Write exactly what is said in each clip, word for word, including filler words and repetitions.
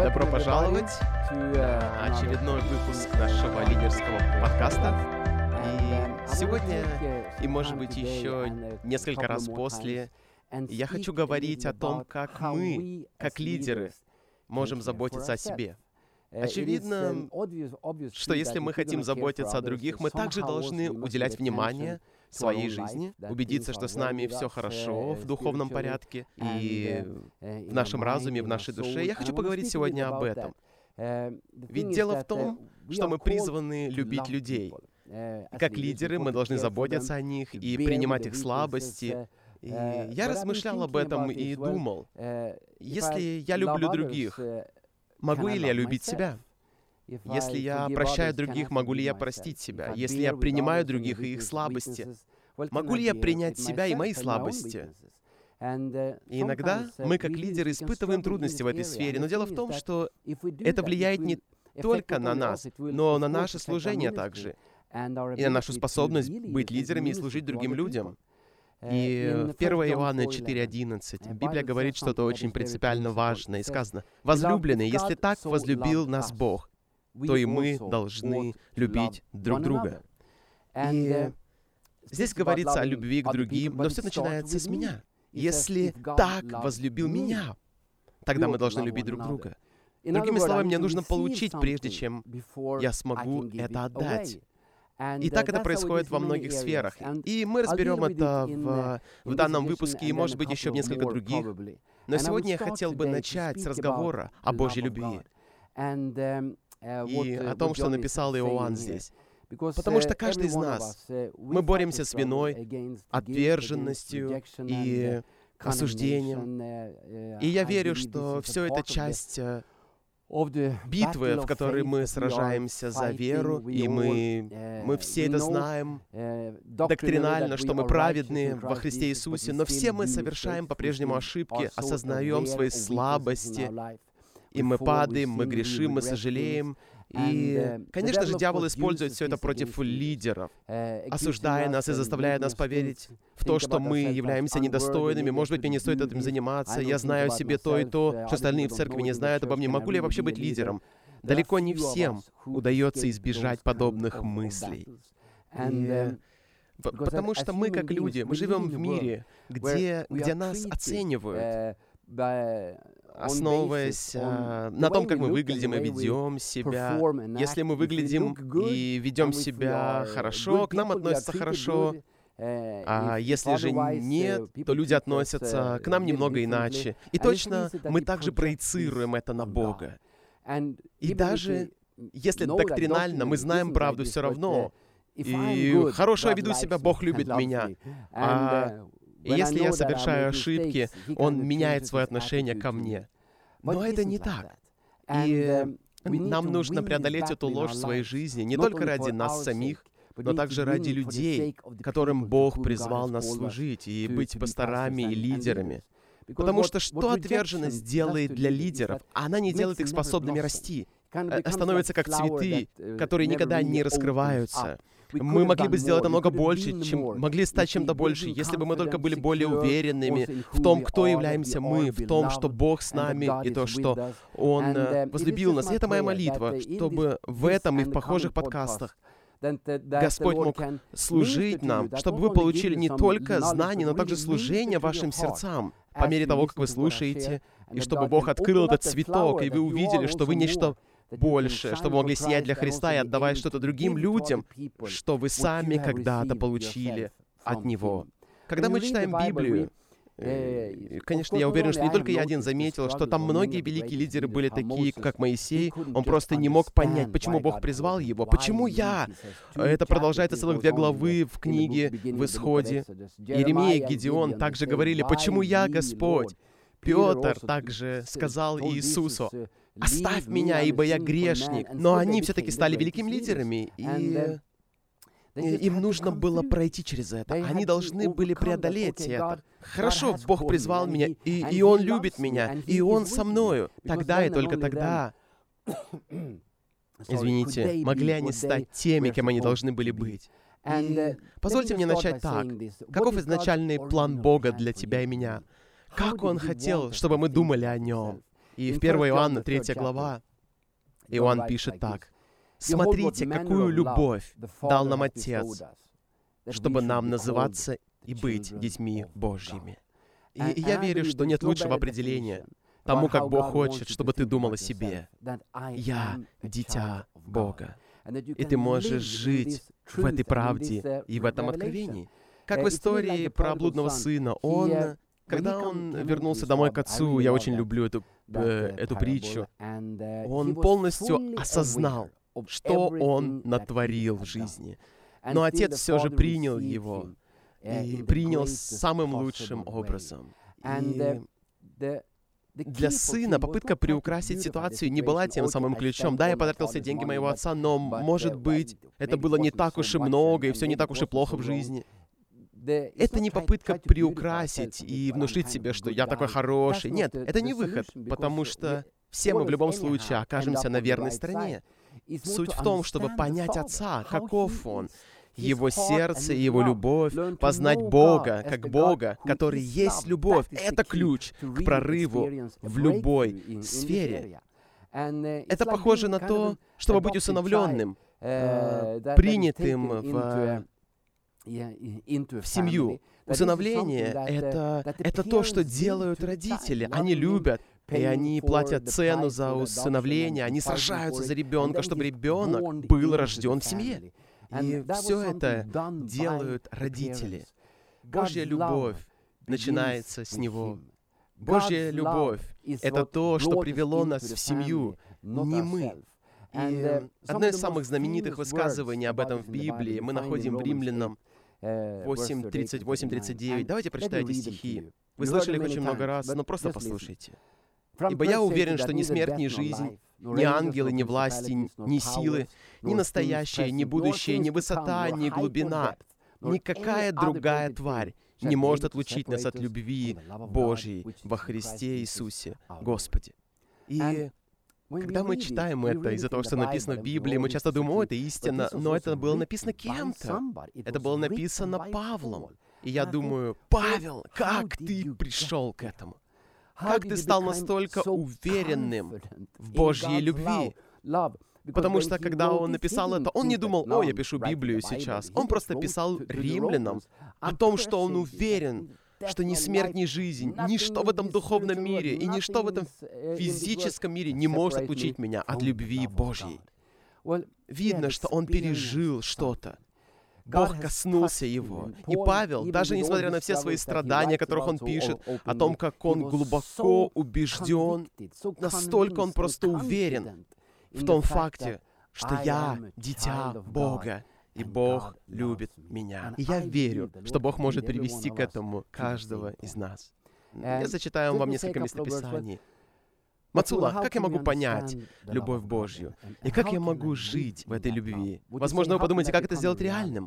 Добро пожаловать на очередной выпуск нашего лидерского подкаста. И сегодня, и может быть еще несколько раз после, я хочу говорить о том, как мы, как лидеры, можем заботиться о себе. Очевидно, что если мы хотим заботиться о других, мы также должны уделять внимание своей жизни, убедиться, что с нами все хорошо в духовном порядке и в нашем разуме, в нашей душе. Я хочу поговорить сегодня об этом. Ведь дело в том, что мы призваны любить людей. Как лидеры мы должны заботиться о них и принимать их слабости. И я размышлял об этом и думал, если я люблю других, могу ли я любить себя? Если я прощаю других, могу ли я простить себя? Если я принимаю других и их слабости, могу ли я принять себя и мои слабости? И иногда мы, как лидеры, испытываем трудности в этой сфере, но дело в том, что это влияет не только на нас, но на наше служение также, и на нашу способность быть лидерами и служить другим людям. И в первое Иоанна четыре одиннадцать Библия говорит что-то очень принципиально важное, и сказано: «Возлюбленные, если так возлюбил нас Бог, то и мы должны любить друг друга». И здесь говорится о любви к другим, но все начинается с меня. Если так возлюбил меня, тогда мы должны любить друг друга. Другими словами, мне нужно получить, прежде чем я смогу это отдать. И так это происходит во многих сферах. И мы разберем это в, в данном выпуске, и, может быть, еще в несколько других. Но сегодня я хотел бы начать с разговора о Божьей любви и о том, что написал Иоанн здесь. Потому что каждый из нас, мы боремся с виной, отверженностью и осуждением. И я верю, что все это часть битвы, в которой мы сражаемся за веру, и мы, мы все это знаем доктринально, что мы праведны во Христе Иисусе, но все мы совершаем по-прежнему ошибки, осознаем свои слабости, и мы падаем, мы грешим, мы сожалеем. И, конечно же, дьявол использует все это против лидеров, осуждая нас и заставляя нас поверить в то, что мы являемся недостойными. Может быть, мне не стоит этим заниматься. Я знаю о себе то и то, что остальные в церкви не знают обо мне. Могу ли я вообще быть лидером? Далеко не всем удается избежать подобных мыслей. И, потому что мы, как люди, мы живем в мире, где, где нас оценивают, основываясь а, на том, как мы выглядим и ведем себя. Если мы выглядим и ведем себя хорошо, к нам относятся хорошо. А если же нет, то люди относятся к нам немного иначе. И точно мы также проецируем это на Бога. И даже если доктринально мы знаем правду все равно, и хорошо я веду себя, Бог любит меня. А И если я совершаю ошибки, Он меняет свое отношение ко мне. Но это не так. И нам нужно преодолеть эту ложь в своей жизни, не только ради нас самих, но также ради людей, которым Бог призвал нас служить, и быть пасторами и лидерами. Потому что что отверженность делает для лидеров? Она не делает их способными расти. Становятся как цветы, которые никогда не раскрываются. Мы могли бы сделать намного больше, чем могли стать чем-то больше, если бы мы только были более уверенными в том, кто являемся мы, в том, что Бог с нами, и то, что Он возлюбил нас. И это моя молитва, чтобы в этом и в похожих подкастах Господь мог служить нам, чтобы вы получили не только знания, но также служение вашим сердцам по мере того, как вы слушаете, и чтобы Бог открыл этот цветок, и вы увидели, что вы нечто больше, чтобы могли сиять для Христа и отдавать что-то другим людям, что вы сами когда-то получили от Него. Когда мы читаем Библию, конечно, я уверен, что не только я один заметил, что там многие великие лидеры были такие, как Моисей. Он просто не мог понять, почему Бог призвал его. Почему я? Это продолжается целых две главы в книге в Исходе. Иеремия и Гедеон также говорили: «Почему я, Господь?» Петр также сказал Иисусу: «Оставь меня, ибо я грешник». Но они все-таки стали великими лидерами, и им нужно было пройти через это. Они должны были преодолеть это. Хорошо, Бог призвал меня, и, и Он любит меня, и Он со мною. Тогда и только тогда, извините, могли они стать теми, кем они должны были быть. И позвольте мне начать так. Каков изначальный план Бога для тебя и меня? Как Он хотел, чтобы мы думали о Нем? И в первое Иоанна, третья глава, Иоанн пишет так: «Смотрите, какую любовь дал нам Отец, чтобы нам называться и быть детьми Божьими». И я верю, что нет лучшего определения тому, как Бог хочет, чтобы ты думал о себе. Я дитя Бога. И ты можешь жить в этой правде и в этом откровении. Как в истории про блудного сына. Он, когда он вернулся домой к отцу, я очень люблю эту, э, эту притчу, он полностью осознал, что он натворил в жизни. Но отец все же принял его, и принял самым лучшим образом. И для сына попытка приукрасить ситуацию не была тем самым ключом. Да, я потратил все деньги моего отца, но, может быть, это было не так уж и много, и все не так уж и плохо в жизни. Это не попытка приукрасить и внушить себе, что я такой хороший. Нет, это не выход, потому что все мы в любом случае окажемся на верной стороне. Суть в том, чтобы понять Отца, каков Он, Его сердце и Его любовь, познать Бога как Бога, который есть любовь. Это ключ к прорыву в любой сфере. Это похоже на то, чтобы быть усыновленным, принятым в, в семью. Усыновление — это, это то, что делают родители. Они любят, и они платят цену за усыновление, они сражаются за ребенка, чтобы ребенок был рожден в семье. И все это делают родители. Божья любовь начинается с Него. Божья любовь — это то, что привело нас в семью, не мы. И одно из самых знаменитых высказываний об этом в Библии мы находим в Римлянам восемь, тридцать восемь, тридцать девять. Давайте прочитайте стихи. Вы слышали их очень много раз, но просто послушайте. «Ибо я уверен, что ни смерть, ни жизнь, ни ангелы, ни власти, ни силы, ни настоящее, ни будущее, ни высота, ни глубина, никакая другая тварь не может отлучить нас от любви Божьей во Христе Иисусе Господе». И когда мы читаем это из-за того, что написано в Библии, мы часто думаем: о, это истина, но это было написано кем-то. Это было написано Павлом. И я думаю: Павел, как ты пришел к этому? Как ты стал настолько уверенным в Божьей любви? Потому что, когда он написал это, он не думал: о, я пишу Библию сейчас. Он просто писал римлянам о том, что он уверен, что ни смерть, ни жизнь, ничто в этом духовном мире и ничто в этом физическом мире не может отлучить меня от любви Божьей. Видно, что он пережил что-то. Бог коснулся его. И Павел, даже несмотря на все свои страдания, о которых он пишет, о том, как он глубоко убежден, настолько он просто уверен в том факте, что я дитя Бога, и Бог любит меня. И я верю, что Бог может привести к этому каждого из нас. Я зачитаю вам несколько местописаний. Мацула, как я могу понять любовь Божью? И как я могу жить в этой любви? Возможно, вы подумаете, как это сделать реальным?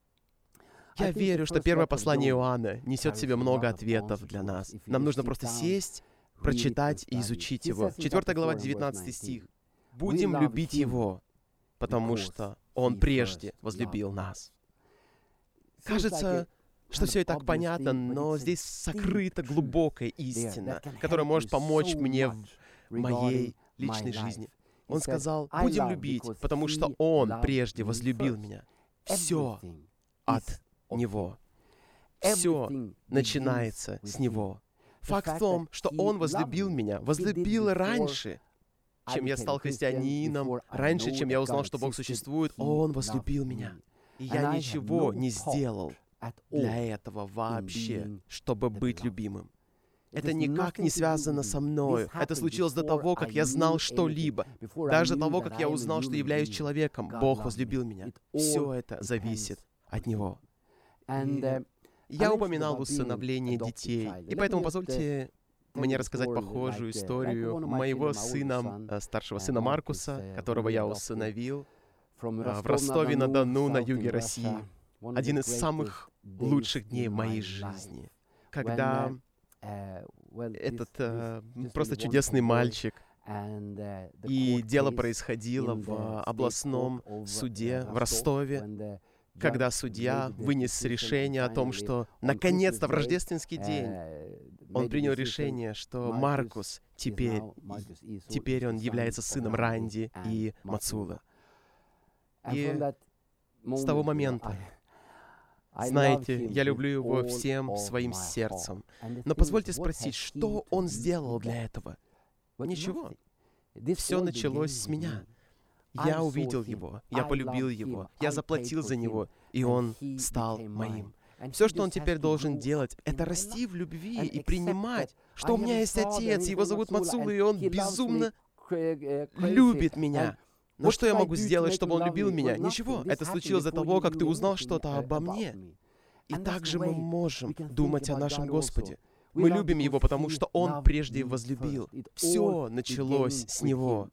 Я верю, что первое послание Иоанна несет в себе много ответов для нас. Нам нужно просто сесть, прочитать и изучить его. четвёртая глава, девятнадцатый стих. «Будем любить Его, потому что Он прежде возлюбил нас». Кажется, что все и так понятно, но здесь сокрыта глубокая истина, которая может помочь мне в моей личной жизни. Он сказал: будем любить, потому что Он прежде возлюбил меня. Все от Него. Все начинается с Него. Факт в том, что Он возлюбил меня, возлюбил раньше, чем я стал христианином, раньше, чем я узнал, что Бог существует. Он возлюбил меня. И я ничего не сделал для этого вообще, чтобы быть любимым. Это никак не связано со мною. Это случилось до того, как я знал что-либо. Даже до того, как я узнал, что являюсь человеком. Бог возлюбил меня. Все это зависит от Него. И я упоминал усыновление детей. И поэтому позвольте мне рассказать похожую историю моего сына, старшего сына Маркуса, которого я усыновил в Ростове-на-Дону на юге России. Один из самых лучших дней в моей жизни, когда этот э, просто чудесный мальчик, и дело происходило в областном суде в Ростове, когда судья вынес решение о том, что наконец-то в рождественский день он принял решение, что Маркус теперь, теперь он является сыном Ранди и Мацула. И с того момента, знаете, я люблю его всем своим сердцем. Но позвольте спросить, что он сделал для этого? Ничего. Все началось с меня. Я увидел его, я полюбил его, я заплатил за него, и он стал моим. Все, что он теперь должен делать, это расти в любви и принимать, что у меня есть отец, его зовут Мацула, и он безумно любит меня. Но что я могу сделать, чтобы он любил меня? Ничего. Это случилось до того, как ты узнал что-то обо мне. И также мы можем думать о нашем Господе. Мы любим Его, потому что Он прежде возлюбил. Все началось с Него.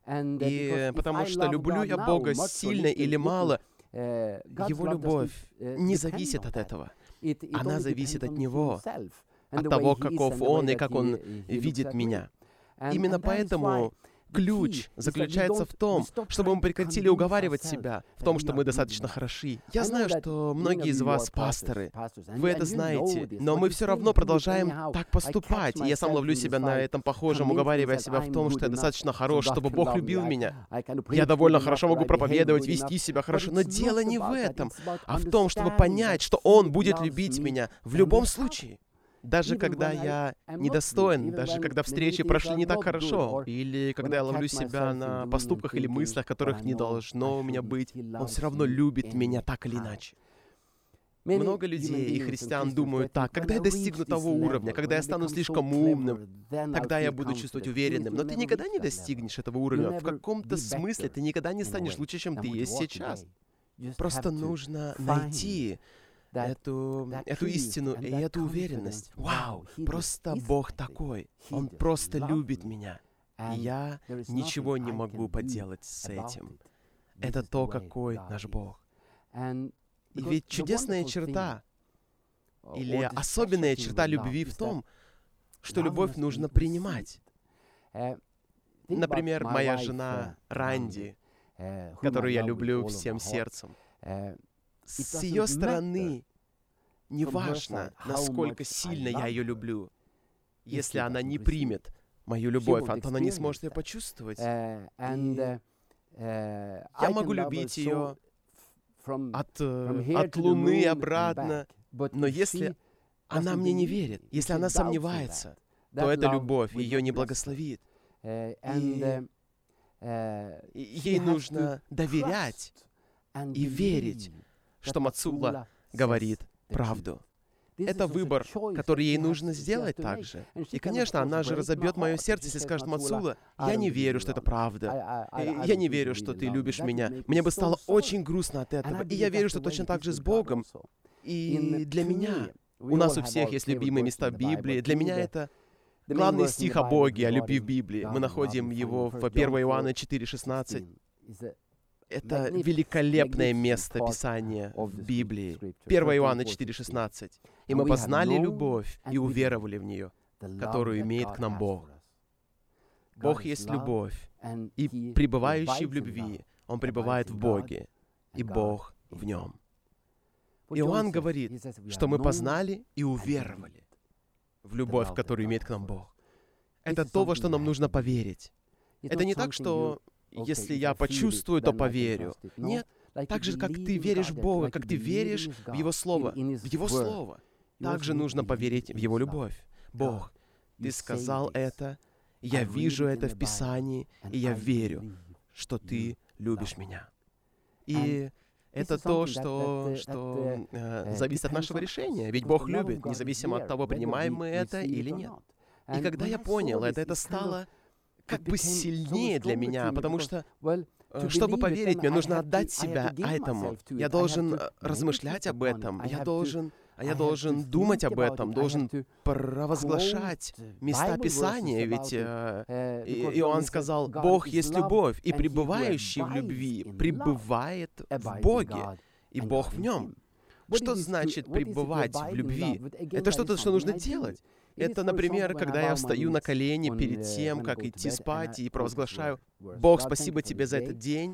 И потому что люблю я Бога сильно или мало, Его любовь не зависит от этого. Она зависит от Него, от того, каков Он и как Он видит меня. Именно поэтому ключ заключается в том, чтобы мы прекратили уговаривать себя в том, что мы достаточно хороши. Я знаю, что многие из вас пасторы, вы это знаете, но мы все равно продолжаем так поступать. И я сам ловлю себя на этом похожем, уговаривая себя в том, что я достаточно хорош, чтобы Бог любил меня. Я довольно хорошо могу проповедовать, вести себя хорошо, но дело не в этом, а в том, чтобы понять, что Он будет любить меня в любом случае. Даже когда я недостоин, даже когда встречи прошли не так хорошо, или когда я ловлю себя на поступках или мыслях, которых не должно у меня быть, Он все равно любит меня так или иначе. Много людей и христиан думают так: когда я достигну того уровня, когда я стану слишком умным, тогда я буду чувствовать уверенным. Но ты никогда не достигнешь этого уровня. В каком-то смысле ты никогда не станешь лучше, чем ты есть сейчас. Просто нужно найти Эту, эту истину и эту уверенность. Вау, просто Бог такой. Он просто любит меня. И я ничего не могу поделать с этим. Это то, какой наш Бог. И ведь чудесная черта, или особенная черта любви в том, что любовь нужно принимать. Например, моя жена Ранди, которую я люблю всем сердцем. С ее стороны, неважно, насколько сильно я ее люблю, если она не примет мою любовь, то она не сможет ее почувствовать. И я могу любить ее от, от Луны обратно, но если она мне не верит, если она сомневается, то эта любовь ее не благословит. И ей нужно доверять и верить, что Мацула говорит правду. Это выбор, который ей нужно сделать также. И, конечно, она же разобьет мое сердце, если скажет: Мацула, я не верю, что это правда. Я не верю, что ты любишь меня. Мне бы стало очень грустно от этого. И я верю, что точно так же с Богом. И для меня, у нас у всех есть любимые места в Библии. Для меня это главный стих о Боге, о любви в Библии. Мы находим его в первое Иоанна четыре шестнадцать. Это великолепное место Писания в Библии. первое Иоанна четыре шестнадцать. «И мы познали любовь и уверовали в нее, которую имеет к нам Бог». Бог есть любовь, и пребывающий в любви, он пребывает в Боге, и Бог в нем. Иоанн говорит, что мы познали и уверовали в любовь, которую имеет к нам Бог. Это то, во что нам нужно поверить. Это не так, что если я почувствую, то поверю. Нет, так же, как ты веришь в Бога, как ты веришь в Его Слово, в Его Слово, также нужно поверить в Его любовь. Бог, Ты сказал это, я вижу это в Писании, и я верю, что Ты любишь меня. И это то, что, что э, зависит от нашего решения. Ведь Бог любит, независимо от того, принимаем мы это или нет. И когда я понял это, это стало как бы сильнее для меня, потому что, чтобы поверить, мне нужно отдать себя этому. Я должен размышлять об этом, я должен, я должен думать об этом, должен провозглашать места Писания, ведь э, Иоанн сказал: «Бог есть любовь, и пребывающий в любви пребывает в Боге, и Бог в нем». Что значит пребывать в любви? Это что-то, что нужно делать. Это, например, когда я встаю на колени перед тем, как идти спать, и провозглашаю: «Бог, спасибо Тебе за этот день,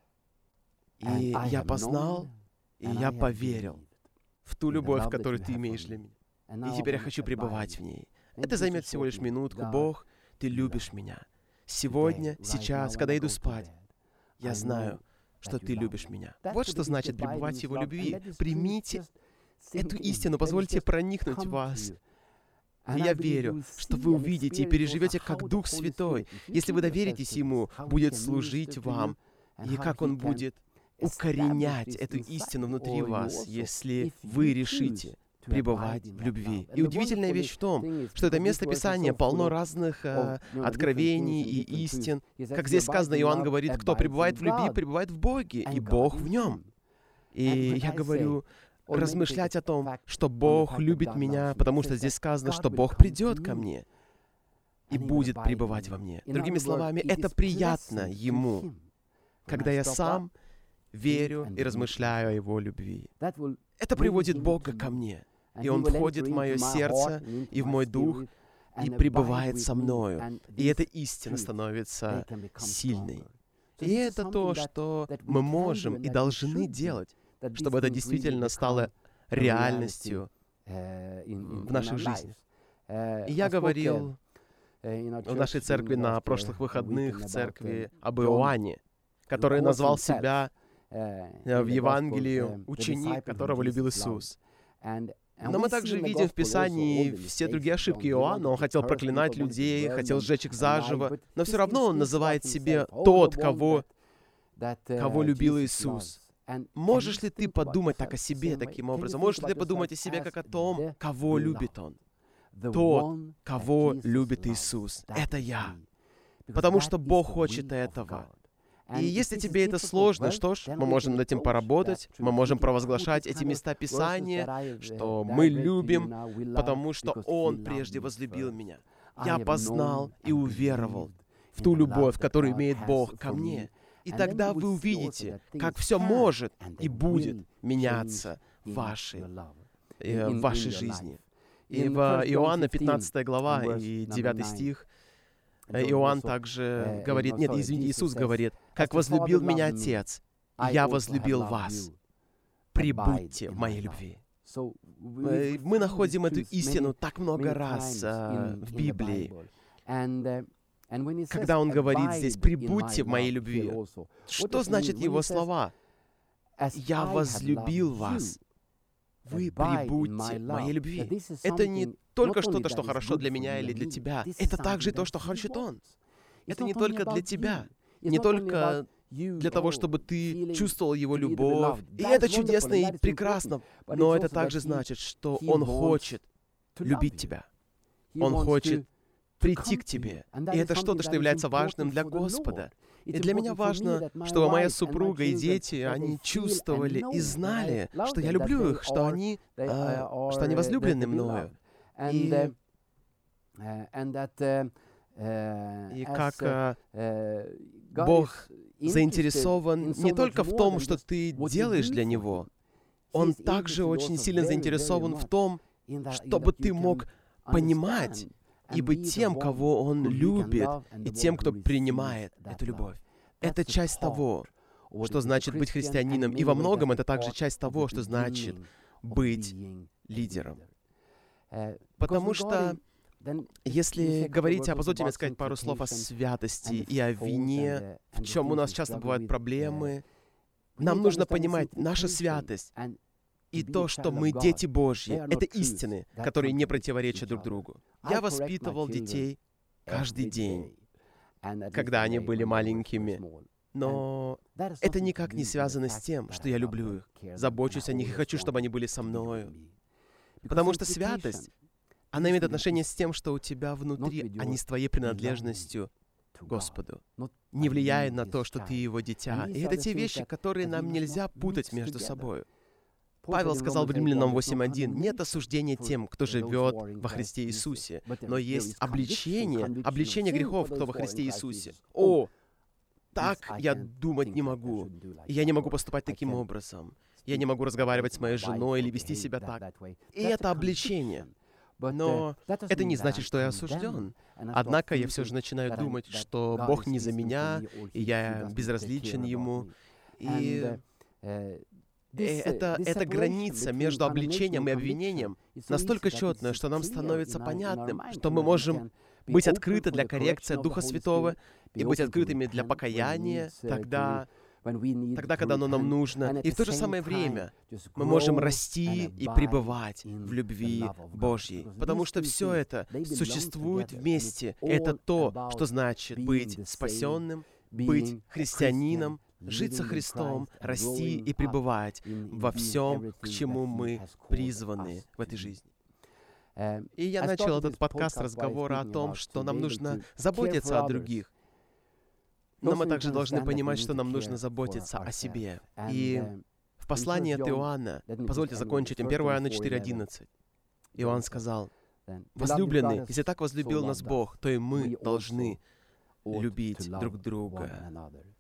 и я познал, и я поверил в ту любовь, которую Ты имеешь для меня, и теперь я хочу пребывать в ней». Это займет всего лишь минутку. Бог, Ты любишь меня. Сегодня, сейчас, когда иду спать, я знаю, что Ты любишь меня. Вот что значит пребывать в Его любви. Примите эту истину, позвольте проникнуть в вас. И я верю, что вы увидите и переживете, как Дух Святой, если вы доверитесь Ему, будет служить вам, и как Он будет укоренять эту истину внутри вас, если вы решите пребывать в любви. И удивительная вещь в том, что это место Писания полно разных э, откровений и истин. Как здесь сказано, Иоанн говорит, кто пребывает в любви, пребывает в Боге, и Бог в нем. И я говорю, размышлять о том, что Бог любит меня, потому что здесь сказано, что Бог придет ко мне и будет пребывать во мне. Другими словами, это приятно Ему, когда я сам верю и размышляю о Его любви. Это приводит Бога ко мне, и Он входит в мое сердце и в мой дух, и пребывает со мною. И эта истина становится сильной. И это то, что мы можем и должны делать, чтобы это действительно стало реальностью в наших жизнях. И я говорил в нашей церкви на прошлых выходных, в церкви, об Иоанне, который назвал себя в Евангелии ученик, которого любил Иисус. Но мы также видим в Писании все другие ошибки Иоанна. Он хотел проклинать людей, хотел сжечь их заживо, но все равно он называет себя тот, кого, кого любил Иисус. Можешь ли ты подумать так о себе таким образом? Можешь ли ты подумать о себе как о том, кого любит Он? Тот, кого любит Иисус. Это я. Потому что Бог хочет этого. И если тебе это сложно, что ж, мы можем над этим поработать, мы можем провозглашать эти места Писания, что мы любим, потому что Он прежде возлюбил меня. Я познал и уверовал в ту любовь, которую имеет Бог ко мне. И тогда вы увидите, как все может и будет меняться в вашей, э, в вашей жизни. И в Иоанна пятнадцатая глава и девятый стих Иоанн также говорит, нет, извините, Иисус говорит, «Как возлюбил меня Отец, я возлюбил вас. Прибудьте в моей любви». Мы находим эту истину так много раз а, в Библии. Когда Он говорит здесь «прибудьте в моей любви», что значит Его слова? «Я возлюбил вас». Вы прибудьте в моей любви. Это не только что-то, что хорошо для меня или для тебя. Это также то, что хочет Он. Это не только для тебя, не только для того, чтобы ты чувствовал Его любовь. И это чудесно и прекрасно. Но это также значит, что Он хочет любить тебя. Он хочет прийти к тебе. И это что-то, что является важным для Господа. И для меня важно, чтобы моя супруга и дети, они чувствовали и знали, что я люблю их, что они, а, что они возлюблены мною. И, и как а, Бог заинтересован не только в том, что ты делаешь для Него, Он также очень сильно заинтересован в том, чтобы ты мог понимать и быть тем, кого Он любит, и тем, кто принимает эту любовь. Это часть того, что значит быть христианином, и во многом это также часть того, что значит быть лидером. Потому что, если говорить, а позвольте мне сказать пару слов о святости и о вине, в чем у нас часто бывают проблемы, нам нужно понимать, наша святость и то, что мы дети Божьи, это истины, которые не противоречат друг другу. Я воспитывал детей каждый день, когда они были маленькими, но это никак не связано с тем, что я люблю их, забочусь о них и хочу, чтобы они были со мною. Потому что святость, она имеет отношение с тем, что у тебя внутри, а не с твоей принадлежностью Господу, не влияет на то, что ты Его дитя. И это те вещи, которые нам нельзя путать между собой. Павел сказал в Римлянам восемь один, «Нет осуждения тем, кто живет во Христе Иисусе, но есть обличение, обличение грехов, кто во Христе Иисусе». О, так я думать не могу. Я не могу поступать таким образом. Я не могу разговаривать с моей женой или вести себя так. И это обличение. Но это не значит, что я осужден. Однако я все же начинаю думать, что Бог не за меня, и я безразличен Ему. И э, это, эта граница между обличением и обвинением настолько четная, что нам становится понятным, что мы можем быть открыты для коррекции Духа Святого и быть открытыми для покаяния тогда, тогда, когда оно нам нужно. И в то же самое время мы можем расти и пребывать в любви Божьей. Потому что все это существует вместе. Это то, что значит быть спасенным, быть христианином, жить со Христом, расти и пребывать во всем, к чему мы призваны в этой жизни. И я начал этот подкаст разговора о том, что нам нужно заботиться о других. Но мы также должны понимать, что нам нужно заботиться о себе. И в послании от Иоанна, позвольте закончить им, первое Иоанна четыре одиннадцать, Иоанн сказал: «Возлюбленный, если так возлюбил нас Бог, то и мы должны любить друг друга».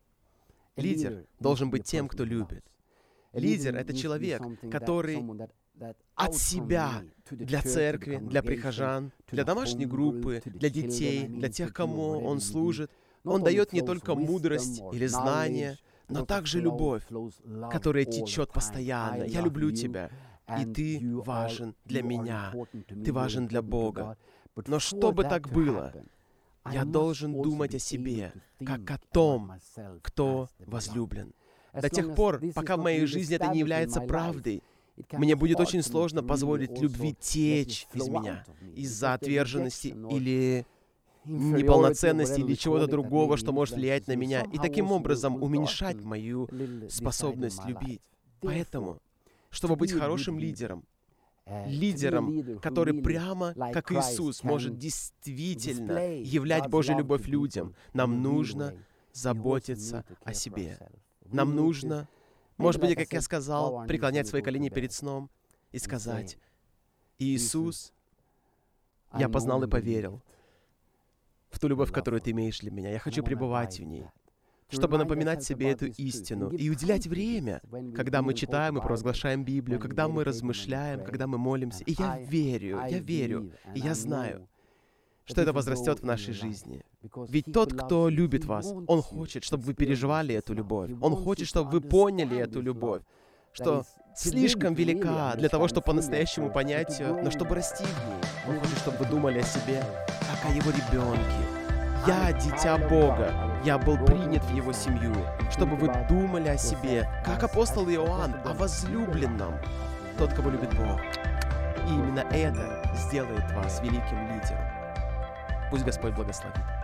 Лидер должен быть тем, кто любит. Лидер — это человек, который от себя для церкви, для прихожан, для домашней группы, для детей, для тех, кому он служит, он дает не только мудрость или знание, но также любовь, которая течет постоянно. «Я люблю тебя, и ты важен для меня, ты важен для Бога». Но чтобы так было, я должен думать о себе, как о том, кто возлюблен. До тех пор, пока в моей жизни это не является правдой, мне будет очень сложно позволить любви течь из меня из-за отверженности или неполноценности или чего-то другого, что может влиять на меня, и таким образом уменьшать мою способность любить. Поэтому, чтобы быть хорошим лидером, лидером, который прямо, как Иисус, может действительно являть Божью любовь людям, нам нужно заботиться о себе. Нам нужно, может быть, как я сказал, преклонять свои колени перед сном и сказать: «Иисус, я познал и поверил в ту любовь, которую Ты имеешь для меня. Я хочу пребывать в ней». Чтобы напоминать себе эту истину и уделять время, когда мы читаем и провозглашаем Библию, когда мы размышляем, когда мы молимся. И я верю, я верю, и я знаю, что это возрастет в нашей жизни. Ведь тот, кто любит вас, он хочет, чтобы вы переживали эту любовь. Он хочет, чтобы вы поняли эту любовь, что слишком велика для того, чтобы по-настоящему понять ее, но чтобы расти в ней. Он хочет, чтобы вы думали о себе, как о его ребенке. Я дитя Бога, я был принят в его семью, чтобы вы думали о себе, как апостол Иоанн, о возлюбленном, тот, кого любит Бог. И именно это сделает вас великим лидером. Пусть Господь благословит.